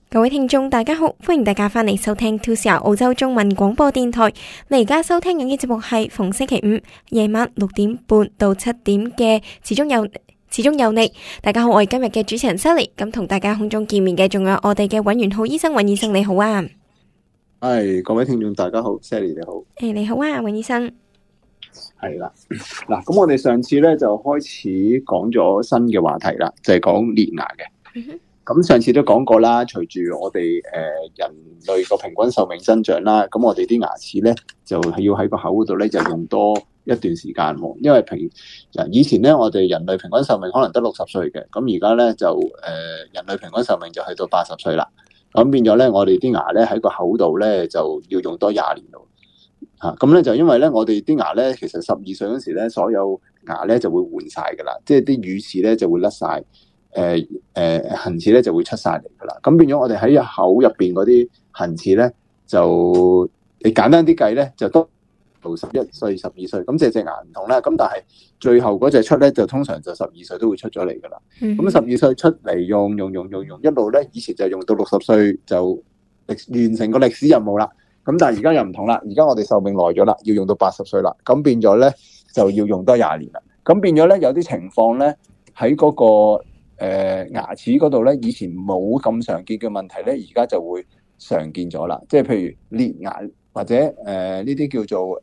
各位聽眾大家好，歡迎大家翻嚟收聽 2CR 澳洲中文廣播電台。你而家收聽緊嘅節目係逢星期五夜晚6點半到7點嘅始終有你。大家好，我係今日嘅主持人 Sally。咁同大家空中見面嘅仲有我哋嘅尹元晧醫生，尹醫生你好啊。 係各位聽眾大家好 ，Sally 你好。 你好啊，尹醫生。 係啦，嗱，咁我哋上次咧就開始講咗新嘅話題啦，就係講裂牙嘅。咁上次都講過啦，隨住我哋人類個平均壽命增長啦，咁我哋啲牙齒咧就係要喺個口嗰度咧就用多一段時間喎。因為以前咧我哋人類平均壽命可能得60歲嘅，咁而家咧就人類平均壽命就去到80歲啦。咁變咗咧，我哋啲牙咧喺個口度咧就要用多20年咯。咁咧就因為咧我哋啲牙咧其實12歲嗰時咧所有牙咧就會換晒噶啦，即係啲乳齒咧就會甩晒。恆齒咧就會出晒嚟噶啦，咁變咗我哋喺口入邊嗰啲恆齒咧，就你簡單啲計咧，就都到11歲、12歲，咁隻牙唔同啦。咁但係最後嗰隻出咧，就通常就12歲都會出咗嚟噶啦。咁12歲出嚟用，一路咧，以前就用到60歲就完成個歷史任務啦。咁但係而家又唔同啦，而家我哋壽命耐咗啦，要用到80歲啦。咁變咗咧就要用多20年啦。咁變咗咧有啲情況咧喺嗰個牙齒嗰度咧，以前冇咁常見嘅問題咧，而家就會常見咗啦。即係譬如裂牙或者呢啲叫做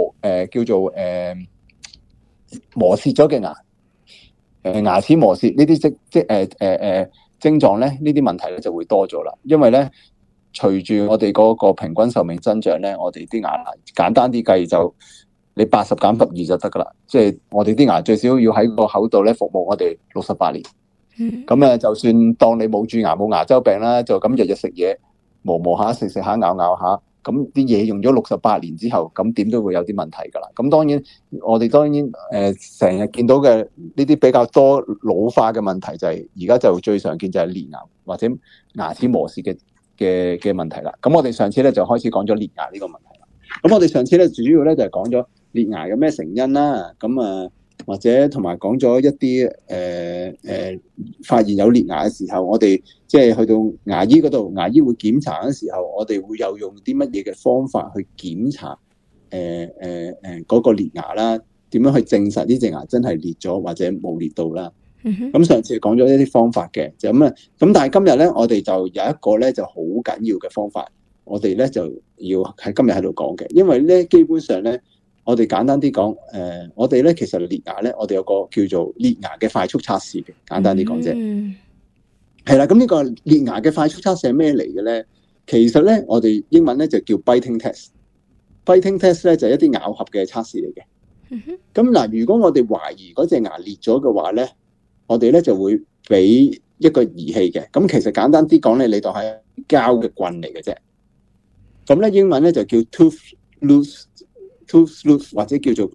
磨蝕咗嘅牙，牙齒磨蝕呢啲症狀咧，呢啲問題咧就會多咗啦。因為咧，隨住我哋嗰個平均壽命增長咧，我哋啲牙簡單啲計就你80減12就得噶啦。即係我哋啲牙最少要喺個口度咧服務我哋68年。咁就算當你冇蛀牙冇牙周病啦，就咁日日食嘢磨下食下咬下，咁啲嘢用咗68年之後，咁點都會有啲問題噶啦。咁當然我哋成日見到嘅呢啲比較多老化嘅問題就係而家就最常見就係裂牙或者牙齒磨蝕嘅問題啦。咁我哋上次咧就開始講咗裂牙呢個問題啦。咁我哋上次咧主要咧就係講咗裂牙嘅咩成因啦。咁或者同埋講咗一啲發現有裂牙嘅時候，我哋即係去到牙醫嗰度，牙醫會檢查嘅時候，我哋會有用啲乜嘢嘅方法去檢查嗰個裂牙啦？點樣去證實呢隻牙真係裂咗或者冇裂到啦？咁上次講咗一啲方法嘅，就咁啊。咁但係今日咧，我哋就有一個咧就好緊要嘅方法，我哋咧就要喺今日喺度講嘅，因為咧基本上咧。我哋簡單啲講，我哋咧其實裂牙咧，我哋有個叫做裂牙嘅快速測試嘅，簡單啲講啫。係啦，咁呢個裂牙嘅快速測試係咩嚟嘅咧？其實咧，我哋英文咧就叫 biting test。biting test 咧就係一啲咬合嘅測試嚟嘅。咁嗱，如果我哋懷疑嗰隻牙裂咗嘅話咧，我哋咧就會俾一個儀器嘅。咁其實簡單啲講咧，你當係膠嘅棍嚟嘅啫。咁咧英文咧就叫 tooth loose 或者叫做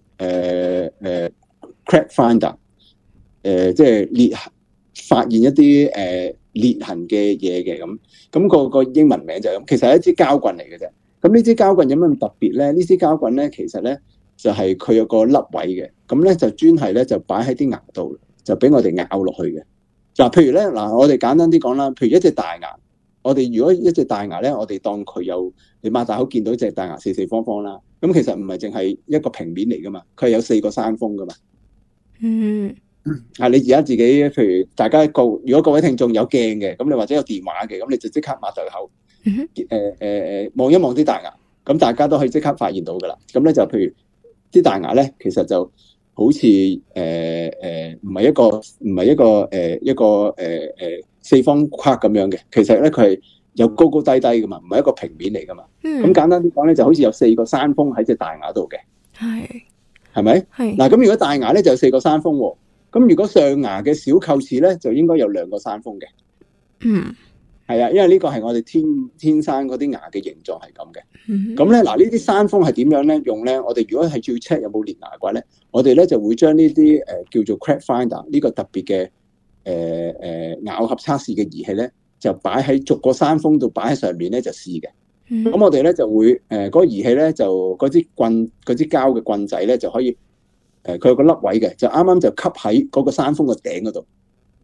crack finder， 即係發現一啲裂痕嘅嘢嘅咁，個英文名就係咁。其實係一支膠棍嚟嘅啫。咁呢支膠棍有咩咁特別咧？呢支膠棍咧，其實咧就係佢有個凹位嘅，咁咧就專係咧就擺喺啲牙度，就俾我哋咬落去嘅。嗱，譬如咧我哋簡單啲講啦，譬如一隻大牙。我哋如果一隻大牙咧，我哋當佢有你擘大口見到隻大牙四四方方啦，咁其實唔係淨係一個平面嚟噶嘛，佢係有4個山峰噶嘛。你而家自己譬如大家如果各位聽眾有鏡嘅，咁你或者有電話嘅，咁你就即刻擘大口，望一望啲大牙，咁大家都可以即刻發現到噶啦。咁咧就譬如啲大牙咧，其實就好似唔係一個四方框咁樣嘅，其實咧佢係有高高低低噶嘛，唔係一個平面嚟噶嘛。咁簡單啲講咧，就好似有4個山峰喺隻大牙度嘅，係咪？嗱，咁如果大牙咧就有4個山峰喎，咁如果上牙嘅小臼齒咧就應該有2個山峰嘅。係啊，因為呢個係我哋天生嗰啲牙嘅形狀係咁嘅。咁咧嗱，呢啲山峰係點樣咧用咧？我哋如果係要 check 有冇裂牙嘅話咧，我哋咧就會將呢啲叫做 crack finder 呢個特別嘅咬合測試嘅儀器咧，就擺喺逐個山峰度擺喺上面咧就試嘅。咁我哋咧就會嗰個儀器咧就嗰支膠嘅棍仔咧就可以佢有個凹位嘅，就啱啱就吸喺嗰個山峰個頂嗰度。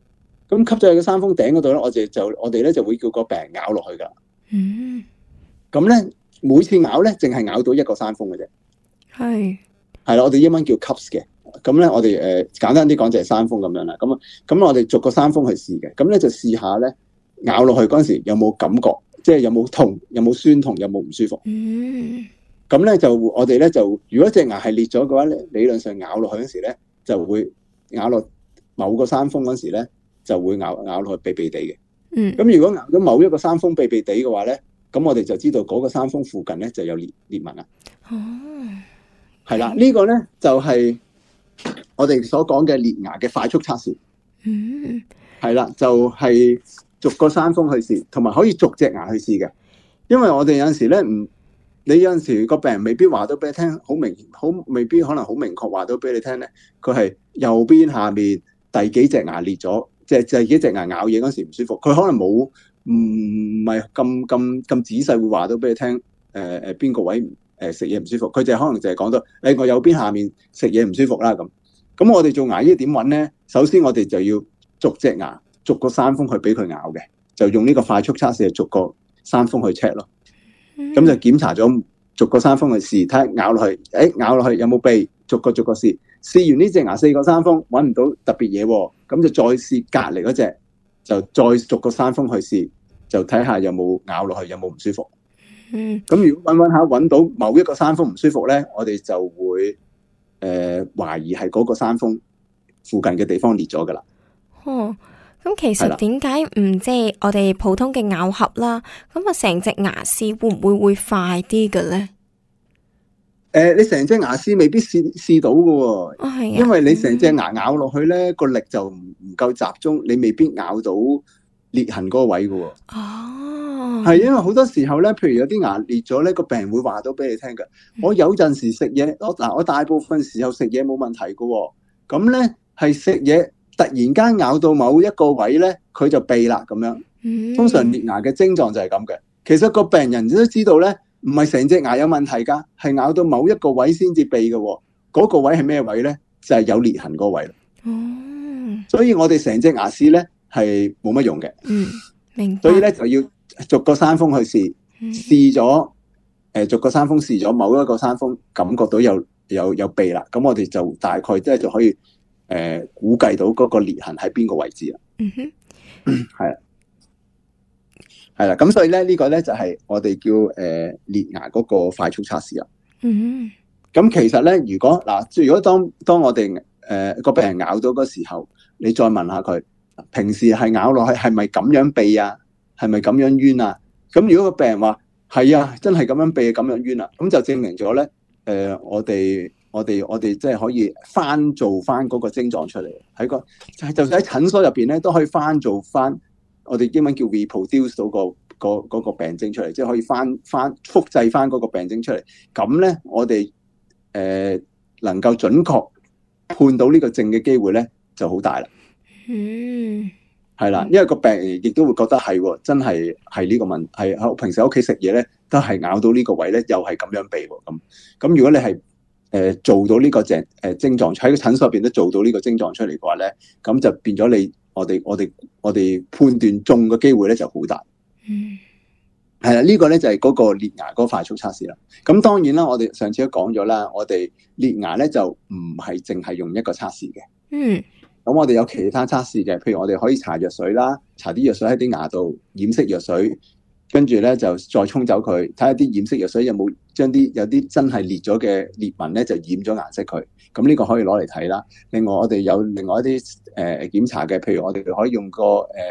咁吸咗喺個山峰頂嗰度咧，我哋咧就會叫個病人咬落去噶。咁咧每次咬咧，淨係咬到一個山峰嘅啫。係啦，我哋英文叫 cups 嘅。咁咧我哋簡單啲講就係山峰咁樣啦。咁我哋逐個山峰去試嘅。咁咧就試下咧咬落去嗰陣時有冇感覺，即係有冇痛，有冇酸痛，有冇唔舒服。咁咧就我哋咧就如果隻牙係裂咗嘅話咧，理論上咬落去嗰時咧就會咬落某個山峰嗰時咧就會咬落去痹痹地嘅。咁如果咬到某一個山峰痹痹地嘅話咧，咁我哋就知道嗰個山峰附近咧就有裂紋啦。係啦，呢個咧就係我哋所講嘅裂牙嘅快速測試。係啦，就係逐個山峰去試，同埋可以逐隻牙去試嘅。因為我哋有陣時咧你有陣時個病人未必話到俾你聽，未必可能好明確話到俾你聽咧，佢係右邊下面第幾隻牙裂咗，即係第幾隻牙咬嘢嗰時唔舒服，佢可能冇唔係咁仔細會話到俾你聽，邊個位食嘢唔舒服，佢就可能就係講到我右邊下面食嘢唔舒服啦咁。咁我哋做牙醫點揾咧？首先我哋就要逐隻牙逐個山峰去俾佢咬嘅，就用呢個快速測試逐個山峰去 check 咯。咁就檢查咗逐個山峰去試，睇下咬落去，咬落去有冇痹，逐個試。試完呢隻牙4個山峰揾唔到特別嘢，咁就再試隔離嗰隻，就再逐個山峰去試，就睇下有冇咬落去有冇唔舒服。咁如果揾下揾到某一個山峰唔舒服咧，我哋就會懷疑係嗰個山峰附近嘅地方裂咗噶啦。 咁其實點解唔即係我哋普通嘅咬合啦？咁啊，成隻牙試會快啲嘅咧？ 你成隻牙試未必試到嘅喎，因為你成隻牙咬落去咧，個力就唔夠集中，你未必咬到裂痕嗰個位嘅喎。係因為好多時候咧，譬如有啲牙裂咗咧，個病人會話到俾你聽嘅。我有陣時食嘢，我大部分時候食嘢冇問題嘅喎，咁咧係食嘢突然間咬到某一個位咧，佢就痹啦咁樣。通常裂牙嘅症狀就係咁嘅。其實個病人都知道咧，唔係成隻牙有問題㗎，係咬到某一個位先至痹嘅喎。嗰個位係咩位咧？就係有裂痕嗰個位。所以我哋成隻牙試咧係冇乜用嘅。 明白。 所以咧就要逐個山峰去試咗，逐個山峰試咗某一個山峰，感覺到有痹啦，咁我哋就大概即係就可以估計到嗰個裂痕喺邊個位置啦。係啦，咁所以咧呢個咧就係我哋叫裂牙嗰個快速測試啦。咁其實咧，如果當我哋個病人咬到嗰時候，你再問下佢，平時係咬落去係咪咁樣痹啊？係咪咁樣冤啊？咁如果個病人話係啊，真係咁樣痹咁樣冤啦，咁就證明咗咧，我哋即係可以做翻嗰個症狀出嚟，就算喺診所入邊咧都可以做翻，我哋英文叫 reproduce 到嗰個病徵出嚟，即係可以複製翻嗰個病徵出嚟。咁咧，我哋能夠準確判到呢個症嘅機會咧就好大啦。係啦，因為個病人亦都會覺得係真係呢個問題，係平時喺屋企食嘢咧，都係咬到呢個位咧，又係咁樣痹喎。咁如果你係做到呢個症狀喺個診所入邊都做到呢個症狀出嚟嘅話咧，咁就變咗我哋判斷中嘅機會咧就好大。係啦，呢個咧就係嗰個裂牙嗰個快速測試啦。咁當然啦，我哋上次都講咗啦，我哋裂牙咧就唔係淨係用一個測試嘅。咁我哋有其他測試嘅，譬如我哋可以搽藥水啦，搽啲藥水喺啲牙度染色藥水，跟住咧就再沖走佢，睇下啲染色藥水有冇將有啲真係裂咗嘅裂紋咧就染咗顏色佢。咁呢個可以攞嚟睇啦。另外我哋有另外一啲檢查嘅，譬如我哋可以用個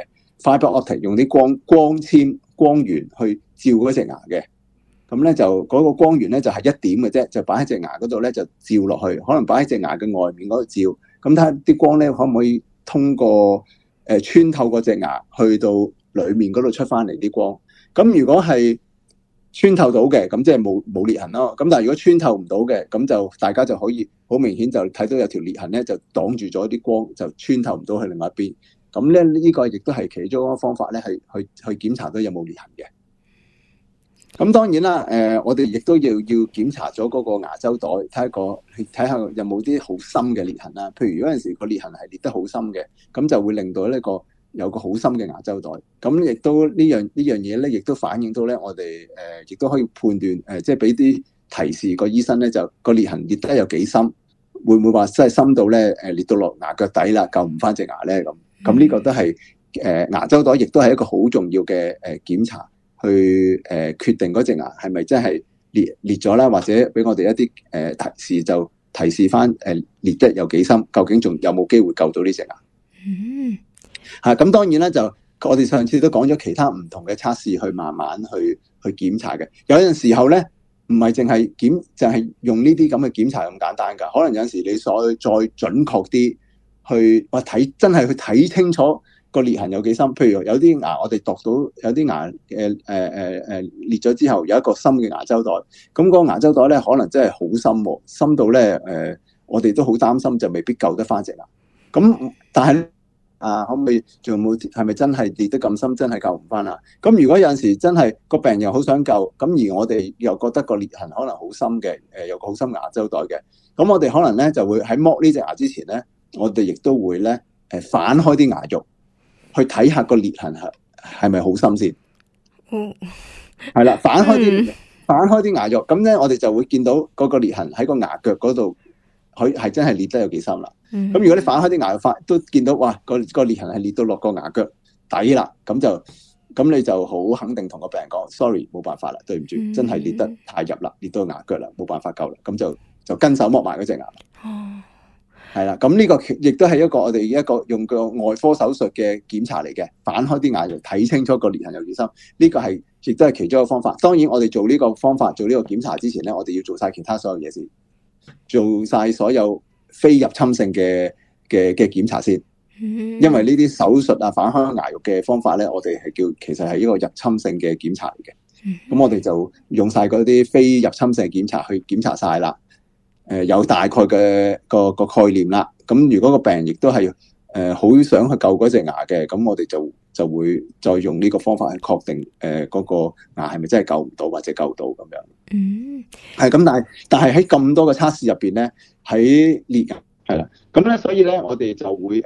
fiber optic 用啲光源去照嗰隻牙嘅。咁咧就嗰個光源咧就係1點嘅啫，就擺喺隻牙嗰度咧就照落去，可能擺喺隻牙嘅外面嗰度照。咁睇下啲光咧可唔可以通過穿透嗰隻牙去到裡面嗰度出翻嚟啲光。咁如果係穿透到嘅，咁即係冇裂痕咯。咁但係如果穿透唔到嘅，咁就大家就可以好明顯就睇到有條裂痕咧，就擋住咗啲光，就穿透唔到去另外一邊。咁咧呢個亦都係其中一個方法咧，係去檢查到有冇裂痕嘅。咁當然啦，我哋亦都要檢查咗嗰個牙周袋，睇下有冇啲好深嘅裂痕啦。譬如有陣時個裂痕係裂得好深嘅，咁就會令到呢個有個好深嘅牙周袋。咁亦都呢樣嘢咧，亦都反映到咧，我哋亦都可以判斷即係俾啲提示個醫生咧，就個裂痕裂得有幾深，會唔會話真係深到咧裂到落牙腳底啦，救唔翻隻牙咧咁。咁呢個都係牙周袋，亦都係一個好重要嘅檢查，去決定嗰隻牙係咪真係裂咗啦，或者俾我哋一啲提示，就提示翻裂得有幾深，究竟仲有冇機會救到呢隻牙？咁當然啦，就我哋上次都講咗其他唔同嘅測試，去慢慢去檢查嘅。有陣時候咧，唔係淨係就係用呢啲咁嘅檢查咁簡單㗎，可能有陣時你再準確啲。真係去睇清楚個裂痕有幾深，譬如有啲牙我哋度到有啲牙裂咗之後有一個深嘅牙周袋，咁個牙周袋咧可能真係好深喎，深到咧我哋都好擔心，就未必救得翻隻牙。咁但係可唔可以仲有冇係咪真係裂得咁深，真係救唔翻啊？咁如果有陣時真係個病人好想救，咁而我哋又覺得個裂痕可能好深嘅，有個好深牙周袋嘅，咁我哋可能咧就會喺剝呢隻牙之前咧，我哋亦都會咧反開啲牙肉，去睇下個裂痕係咪好深先。係啦，反開啲牙肉，咁咧我哋就會見到嗰個裂痕喺個牙腳嗰度，佢係真係裂得有幾深啦。咁如果你反開啲牙肉，都見到哇個裂痕係裂到落個牙腳底啦，咁你就好肯定同個病人講 sorry， 冇辦法啦，對唔住，真係裂得太入啦，裂到牙腳啦，冇辦法救啦，咁就跟手剝埋嗰隻牙。係啦，咁呢個亦都係我哋一個用個外科手術嘅檢查嚟嘅，反開啲牙肉睇清楚個裂痕有幾深，呢個亦都係其中一個方法。當然我哋做呢個方法做呢個檢查之前咧，我哋要做晒其他所有嘢先，做晒所有非入侵性嘅檢查先。因為呢啲手術反開牙肉嘅方法咧，我哋其實係一個入侵性嘅檢查嚟嘅。咁我哋就用晒嗰啲非入侵性檢查去檢查晒啦。有大概嘅個概念啦。咁如果個病人亦都係好想去救嗰隻牙嘅，咁我哋就會再用呢個方法去確定嗰個牙係咪真係救唔到或者救到咁樣。係咁，但係喺咁多嘅測試入邊咧，喺裂牙係啦。咁咧，所以咧我哋就會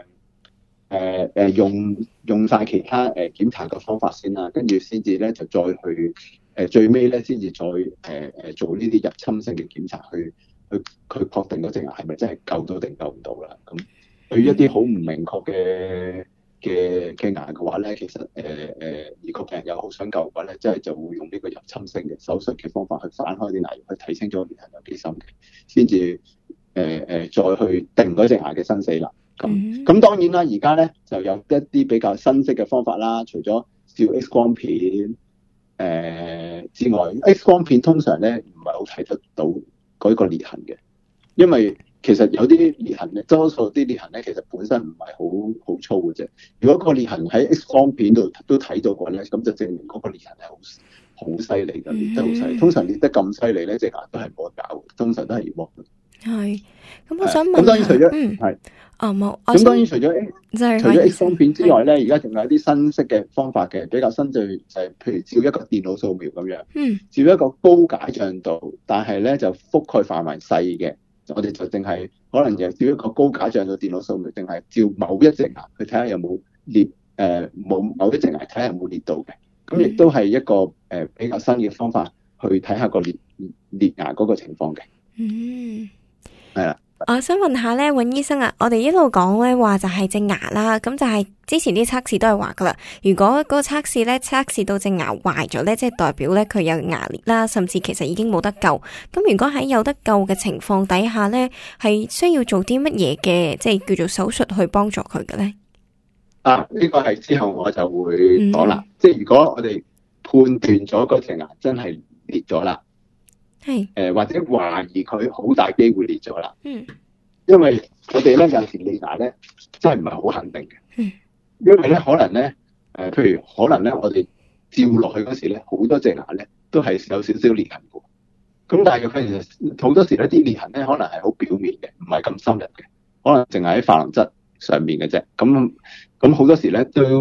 用晒其他檢查嘅方法先啦，跟住先至咧就再去最尾咧先至再做呢啲入侵性嘅檢查去確定嗰隻牙係咪真係救到定救唔到啦？咁對於一啲好唔明確嘅牙嘅話咧，其實如果病人有好想救嘅話咧，即係就會用呢個入侵性嘅手術嘅方法去反開啲牙肉，去睇清楚裂痕有幾深嘅，先至再去定嗰隻牙嘅生死啦。咁當然啦，而家咧就有一啲比較新式嘅方法啦，除咗照 X 光片之外，X 光片通常咧唔係好睇得到嗰個裂痕嘅，因為其實有啲裂痕咧，多數啲裂痕咧其實本身唔係好粗嘅啫。如果個裂痕喺 X 光片度都睇到過咧，咁就證明嗰個裂痕係好犀利嘅，裂得好犀利。通常裂得咁犀利咧，隻牙都係冇得搞，通常都係要剝嘅。 係，咁我想問， 咁當然除咗冇， 咁當然除咗 X 光片之外咧，而家仲有啲新式嘅方法嘅，比較新就係譬如照一個電腦掃描咁樣，照一個高解像度，但係咧就覆蓋範圍細嘅，我哋就淨係可能就照一個高解像度電腦掃描，淨係照某一隻牙去睇下有冇裂，某一隻牙睇下有冇裂到嘅，咁亦都係一個比較新嘅方法去睇下個裂牙嗰個情況嘅。係啦。 我想問下咧，尹醫生啊，我哋一路講咧話就係隻牙啦，咁就係之前啲測試都係話噶啦，如果嗰個測試咧測試到隻牙壞咗咧，即係代表咧佢有牙裂啦，甚至其實已經冇得救。咁如果喺有得救嘅情況底下咧，係需要做啲乜嘢嘅，即係叫做手術去幫助佢嘅咧？ 呢個係之後我就會講啦。即係如果我哋判斷咗嗰隻牙真係裂咗啦。係或者懷疑佢好大機會裂咗啦，因為我哋咧有時裂牙咧真係唔係好肯定嘅，因為咧可能咧譬如可能咧我哋照落去嗰時咧好多隻牙咧都係有少少裂痕嘅，咁但係佢其實好多時咧啲裂痕咧可能係好表面嘅，唔係咁深入嘅，可能淨係喺琺瑯質上面嘅啫，咁好多時咧都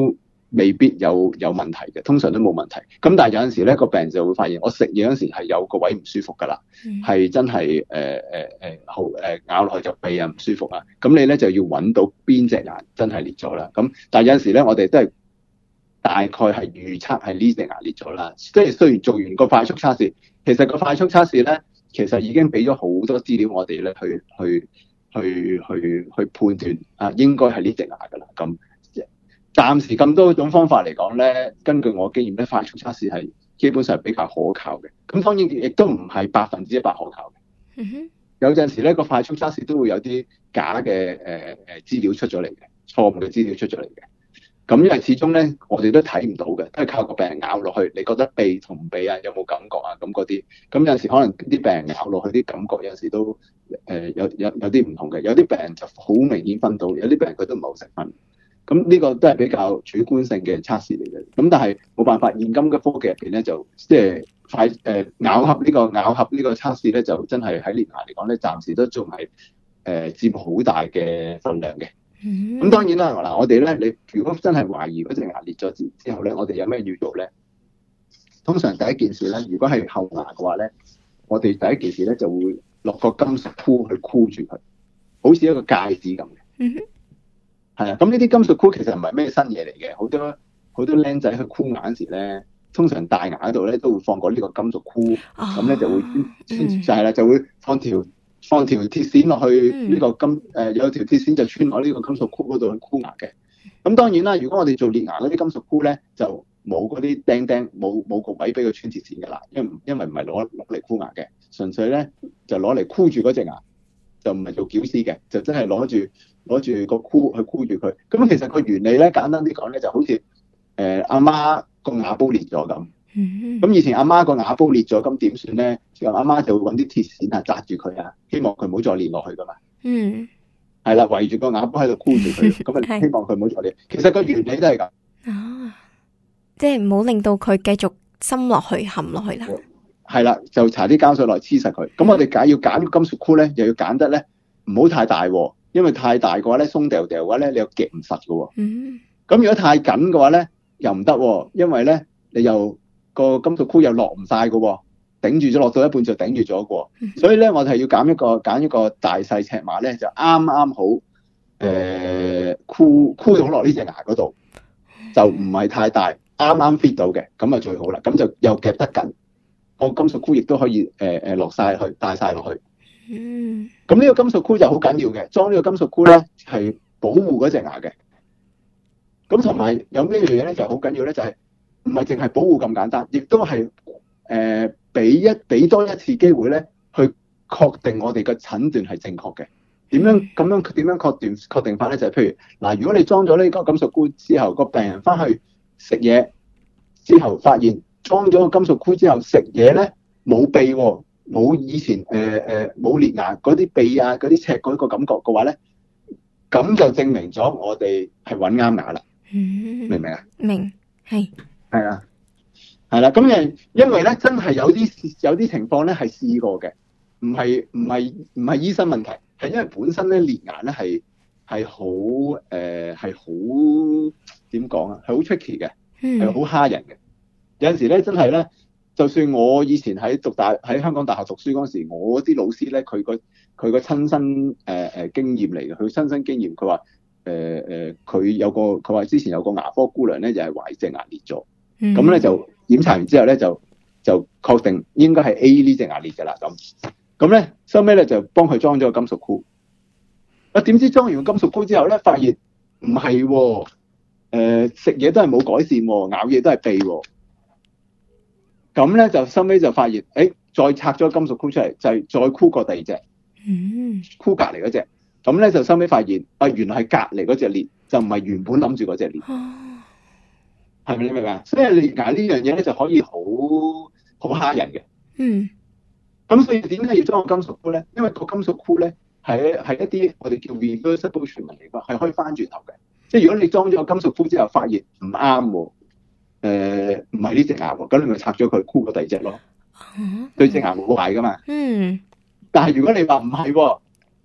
未必有問題嘅，通常都冇問題。咁但係有陣時咧，個病人就會發現，我食嘢嗰陣時係有個位唔舒服㗎啦，係真係好咬落去就鼻啊唔舒服啊。咁你咧就要揾到邊隻牙真係裂咗啦。咁但係有陣時咧，我哋都係大概係預測係呢隻牙裂咗啦。即係雖然做完個快速測試，其實個快速測試咧，其實已經俾咗好多資料我哋咧去判斷啊，應該係呢隻牙㗎啦。咁暫時咁多種方法嚟講咧，根據我經驗咧，快速測試係基本上係比較可靠嘅。咁當然亦都唔係100%可靠嘅。有陣時咧，個快速測試都會有啲假嘅資料出咗嚟嘅，錯誤嘅資料出咗嚟嘅。咁因為始終咧，我哋都睇唔到嘅，都係靠個病人咬落去，你覺得鼻同鼻啊有冇感覺啊咁嗰啲。咁有陣時可能啲病人咬落去啲感覺有陣時都有啲唔同嘅。有啲病人就好明顯分到，有啲病人佢都唔係好識分。咁呢個都係比較主觀性嘅測試嚟嘅。咁但係冇辦法，現今嘅科技入邊咧，就即係咬合呢個測試咧，就真係喺連牙嚟講咧，暫時都仲係佔好大嘅分量嘅。咁當然啦，嗱我哋咧，你如果真係懷疑嗰隻牙裂咗之後咧，我哋有咩要做咧？通常第一件事咧，如果係後牙嘅話咧，我哋第一件事咧就會落個金屬箍去箍住佢，好似一個戒指咁嘅。係啊，咁呢啲金屬箍其實唔係咩新嘢嚟嘅，好多僆仔去箍牙嗰時咧，通常大牙嗰度咧都會放過呢個金屬箍，咁咧就會就係啦，就會放條鐵線落去呢個有條鐵線就穿落呢個金屬箍嗰度去箍牙嘅。咁當然啦，如果我哋做裂牙嗰啲金屬箍咧，就冇嗰啲釘，冇個位俾佢穿鐵線㗎啦，因為唔係攞嚟箍牙嘅，純粹咧就攞嚟箍住嗰隻牙，就唔係做矯絲嘅，就真係攞住個箍去箍住佢。咁其實個原理咧，簡單啲講咧，就好似阿媽個牙煲裂咗咁。咁以前阿媽個牙煲裂咗，咁點算咧？阿媽就會揾啲鐵線啊紮住佢啊，希望佢唔好再裂落去噶嘛。係啦，圍住個牙煲喺度箍住佢，咁啊希望佢唔好再裂。其實個原理都係咁。 即係唔好令到佢繼續深落去、陷落去啦。 係啦，就搽啲膠水落去黐實佢。咁我哋要揀金屬箍咧，又要揀得咧唔好太大喎，因為太大嘅話咧，鬆掉掉嘅話咧，你又夾唔實嘅喎。咁如果太緊嘅話咧，又唔得喎，因為咧你又個金屬箍又落唔晒嘅喎，頂住咗落到一半就頂住咗嘅喎。所以咧，我哋係要揀一個大細尺碼咧，就啱啱好箍到落呢隻牙嗰度，就唔係太大，啱啱 fit 到嘅，咁啊最好啦。咁就又夾得緊，個金屬箍亦都可以落晒去，帶晒落去。咁呢個金屬箍就好緊要嘅，裝呢個金屬箍咧係保護嗰隻牙嘅。咁同埋有呢樣嘢咧就好緊要咧，就係唔係淨係保護咁簡單，亦都係俾多一次機會咧，去確定我哋嘅診斷係正確嘅。點樣確定法咧？就係譬如嗱，如果你裝咗呢個金屬箍之後，個病人翻去食嘢之後，發現裝咗個金屬箍之後食嘢咧冇鼻喎，冇以前冇裂牙嗰啲鼻啊嗰啲赤嗰個感覺嘅話咧，咁就證明咗我哋係揾啱牙啦。明唔明啊？明，係啊，係啦。咁因為咧，真係有啲情況咧係試過嘅，唔係醫生問題，係因為本身咧裂牙咧係好點講啊，係好 tricky 嘅，係好蝦人嘅。有陣時咧真係咧，就算我以前喺香港大學讀書嗰時，我啲老師咧佢個親身經驗嚟嘅，佢親身經驗，佢話。佢話之前有個牙科姑娘咧，就係懷疑隻牙裂咗，咁咧就檢查完之後咧就確定應該係 A 呢隻牙裂㗎啦，咁咧收尾咧就幫佢裝咗個金屬箍。點知裝完個金屬箍之後咧，發現唔係喎，食嘢都係冇改善喎，咬嘢都係鼻喎。咁咧就收尾就發現，再拆咗金屬箍出嚟，就係再箍過第二隻，箍隔離嗰隻。咁咧就收尾發現，原來係隔離嗰隻裂，就唔係原本諗住嗰隻裂，係咪你明白？所以裂牙呢樣嘢咧就可以好蝦人嘅。咁所以點解要裝個金屬箍咧？因為個金屬箍咧係一啲我哋叫 reversible treatment 嚟㗎，係可以翻轉頭嘅。即係如果你裝咗個金屬箍之後發現唔啱喎，唔係呢隻牙喎，咁你咪拆咗佢箍過第二隻咯。對隻牙冇壞㗎嘛。但係如果你話唔係喎。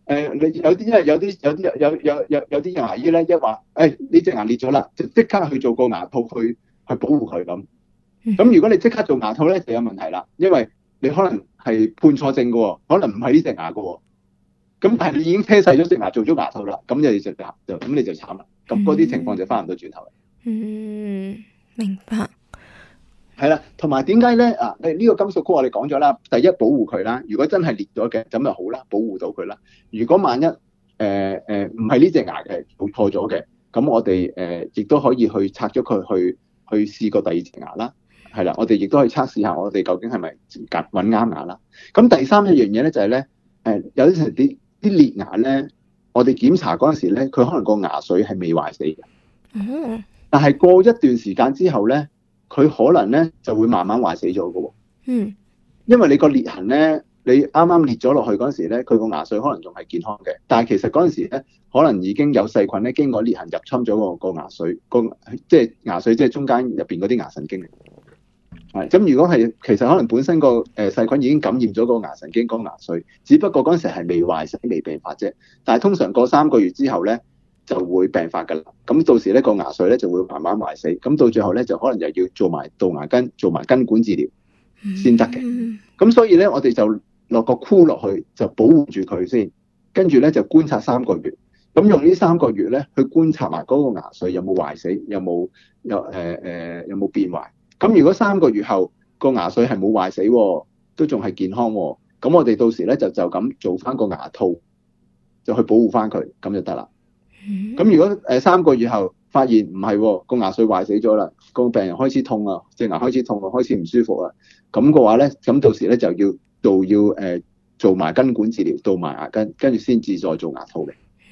你有啲因為有啲牙醫咧一話，呢隻牙裂咗啦，就即刻去做個牙套去保護佢咁。咁如果你即刻做牙套咧，就有問題啦，因為你可能係判錯症嘅喎，可能唔係呢隻牙嘅喎。咁但係你已經車細咗隻牙做咗牙套啦，咁你就慘啦。咁嗰啲情況就翻唔到轉頭啦。 明白。 係啦，同埋點解咧？呢個金屬箍我哋講咗啦，第一保護佢啦。如果真係裂咗嘅，咁就好啦，保護到佢啦。如果萬一唔係呢隻牙嘅做錯咗嘅，咁我哋亦都可以去拆咗佢去試過第二隻牙啦。係啦，我哋亦都可以測試下我哋究竟係咪揾啱牙啦。咁第三一樣嘢咧就係咧，有啲時啲裂牙咧，我哋檢查嗰陣時咧，佢可能個牙髓係未壞死嘅。但係過一段時間之後咧，佢可能咧就會慢慢壞死咗嘅喎。因為你個裂痕咧，你啱啱裂咗落去嗰陣時咧，佢個牙髓可能仲係健康嘅，但係其實嗰陣時咧，可能已經有細菌咧經過裂痕入侵咗個牙髓，即係牙髓，即係中間入邊嗰啲牙神經嚟。咁如果係其實可能本身個細菌已經感染咗個牙神經、個牙髓，只不過嗰陣時係未壞死、未病發啫。但係通常過3個月之後咧就會病發㗎啦。咁到時咧個牙髓咧就會慢慢壞死，咁到最後咧就可能又要做埋杜牙根、做埋根管治療先得嘅。咁所以咧我哋就落個箍落去，就保護住佢先，跟住咧就觀察3個月。咁用呢3個月咧去觀察埋嗰個牙髓有冇壞死，有冇變壞。咁如果3個月後個牙髓係冇壞死，都仲係健康，咁我哋到時咧就咁做翻個牙套，就去保護翻佢，咁就得啦。咁如果3個月後發現唔係個牙髓壞死咗啦，個病人開始痛啊，隻牙開始痛啊，開始唔舒服啊，咁嘅話咧，咁到時咧就要做埋根管治療，杜埋牙根，跟住先至再做牙套嘅。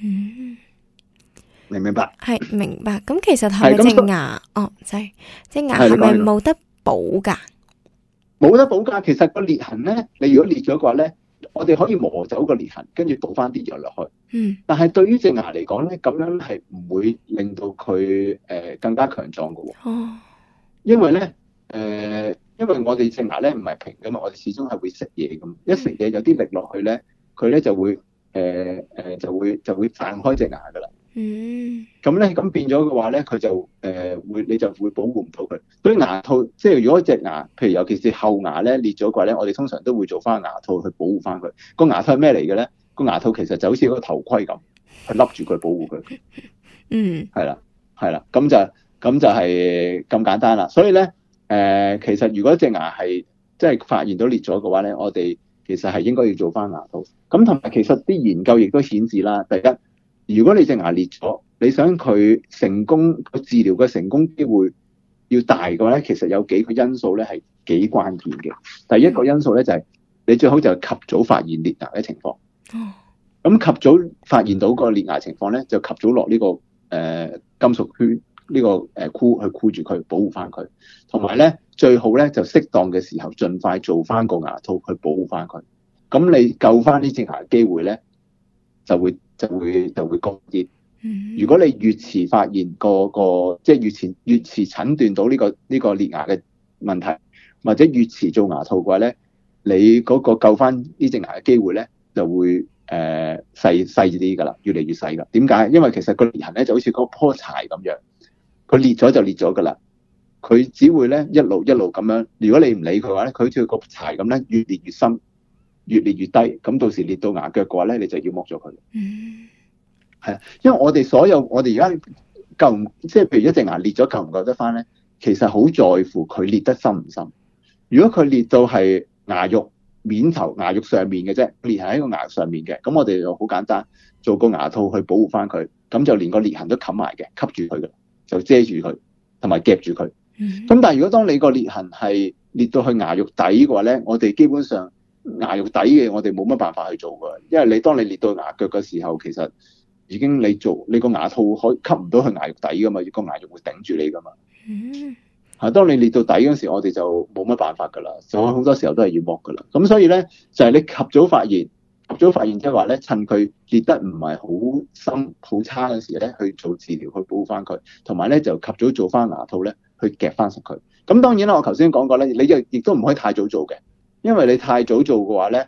明唔明白？ 係明白。咁其實係咪隻牙？隻牙係咪冇得補噶？ 冇得補噶。其實個裂痕咧，你如果裂咗嘅話咧，我哋可以磨走個裂痕，跟住倒翻啲藥落去。但係對於隻牙嚟講咧，咁樣係唔會令到佢更加強壯噶。因為咧因為我哋隻牙咧唔係平噶嘛，我哋始終係會食嘢咁。一食嘢有啲力落去咧，佢咧就會就會散開隻牙噶啦。咁變咗嘅話咧，佢就你就會保護唔到佢。所以牙套即係如果隻牙，譬如尤其是後牙咧裂咗嘅話咧，我哋通常都會做翻牙套去保護翻佢。個牙套係咩嚟嘅咧？個牙套其實就好似個頭盔咁，去笠住佢保護佢。係啦，咁就係咁簡單啦。所以咧其實如果隻牙係即係發現到裂咗嘅話咧，我哋其實係應該要做翻牙套。咁同埋其實啲研究亦都顯示啦，第一，如果你隻牙裂咗，你想佢成功治療嘅成功機會要大嘅話咧，其實有幾個因素咧係幾關鍵嘅。第一個因素咧就係你最好就係及早發現裂牙嘅情況。咁及早發現到個裂牙情況咧，就及早落呢個金屬圈呢個箍去箍住佢，保護翻佢。同埋咧，最好咧就適當嘅時候盡快做翻個牙套去保護翻佢。咁你救翻呢隻牙嘅機會咧就會高啲。如果你越遲發現即係越遲診斷到呢個裂牙嘅問題，或者越遲做牙套嘅話咧，你嗰個救翻呢隻牙嘅機會咧就會細啲㗎啦，越嚟越細㗎。點解？因為其實個裂痕咧就好似嗰棵柴咁樣，佢裂咗就裂咗㗎啦。佢只會咧一路咁樣。如果你唔理佢嘅話咧，佢好似個柴咁咧，越裂越深，越裂越低。咁到時裂到牙腳嘅話咧，你就要剝咗佢。係啊，因為我哋而家即係譬如一隻牙裂咗，救唔救得翻咧？其實好在乎佢裂得深唔深。如果佢裂到係牙肉面頭、牙肉上面嘅啫，裂痕喺個牙上面嘅，咁我哋就好簡單，做個牙套去保護翻佢，咁就連個裂痕都冚埋嘅，吸住佢嘅，就遮住佢，同埋夾住佢。咁但係如果當你個裂痕係裂到去牙肉底嘅話咧，我哋基本上牙肉底嘅我哋冇乜辦法去做㗎，因為當你裂到牙腳嘅時候，其實已經你個牙套可以吸唔到去牙肉底㗎嘛，個牙肉會頂住你㗎嘛。當你裂到底嗰時，我哋就冇乜辦法㗎啦，所以好多時候都係要剝㗎啦。咁所以咧，就係你及早發現即係話咧，趁佢裂得唔係好深、好差嗰時咧，去做治療去保護翻佢，同埋咧就及早做翻牙套咧，去夾翻實佢。咁當然啦，我頭先講過咧，你亦都唔可以太早做嘅，因為你太早做嘅話咧，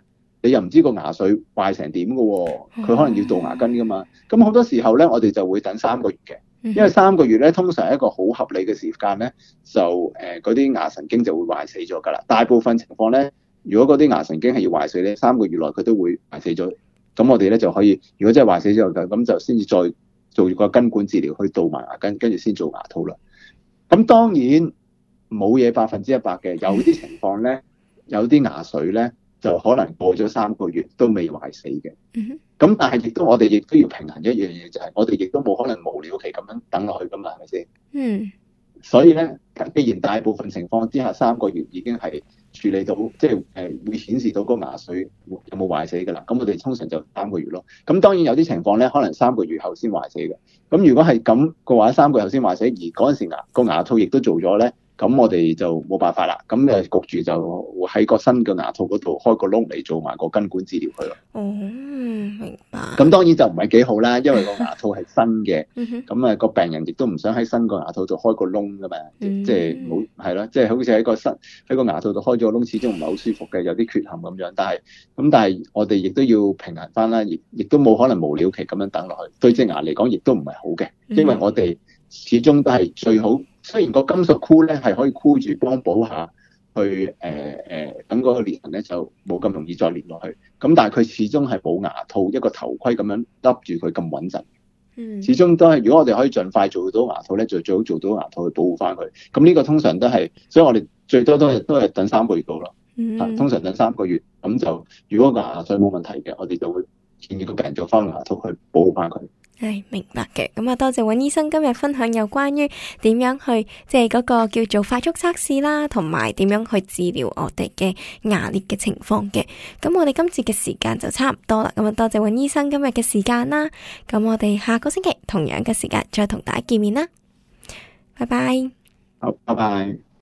你又唔知個牙髓壞成點噶，佢可能要杜牙根噶嘛。咁好多時候咧，我哋就會等3個月嘅，因為3個月咧通常係一個好合理嘅時間咧，就嗰啲牙神經就會壞死咗噶啦。大部分情況咧，如果嗰啲牙神經係要壞死咧，3個月內佢都會壞死咗。咁我哋咧就可以，如果真係壞死咗嘅，咁就先至再做個根管治療去杜埋牙根，跟住先做牙套啦。咁當然冇嘢100%嘅，有啲情況咧，有啲牙髓咧就可能過咗3個月都未壞死嘅。咁但係我哋亦都要平衡一樣嘢，就係我哋亦都冇可能無了期咁樣等落去噶嘛，係咪先？所以咧，既然大部分情況之下3個月已經係處理到，即係會顯示到嗰個牙髓有冇壞死㗎啦。咁我哋通常就3個月咯。咁當然有啲情況咧，可能3個月後先壞死嘅。咁如果係咁嘅話，3個月後先壞死，而嗰陣時個牙套亦都做咗咧，咁我哋就冇辦法啦。咁焗住就喺個新嘅牙套嗰度開個窿嚟做埋個根管治療佢咯。 明白。 咁當然就唔係幾好啦，因為個牙套係新嘅，咁個病人亦都唔想喺新個牙套度開個窿噶嘛，即係冇係咯，即係好似喺個牙套度開咗個窿，始終唔係好舒服嘅，有啲缺陷咁樣。但係我哋亦都要平衡翻啦，亦都冇可能無了期咁樣等落去，對隻牙嚟講亦都唔係好嘅，因為我哋始終都係最好。雖然個金屬箍咧係可以箍住幫補下，去等嗰個裂痕咧就冇咁容易再裂落去。咁但係佢始終係冇牙套一個頭盔咁樣笠住佢咁穩陣。始終都係，如果我哋可以盡快做到牙套咧，就最好做到牙套去保護翻佢。咁呢個通常都係，所以我哋最多都係等3個月到咯。通常等3個月，咁就如果個牙髓冇問題嘅，我哋就會建議個病人做翻牙套去保護翻佢。 係明白嘅，咁啊多謝尹醫生今日分享有關於點樣去即係嗰個叫做快速測試啦，同埋點樣去治療我哋嘅牙裂嘅情況嘅。咁我哋今次嘅時間就差唔多啦，咁啊多謝尹醫生今日嘅時間啦。咁我哋下個星期同樣嘅時間再同大家見面啦。拜拜。 好，拜拜。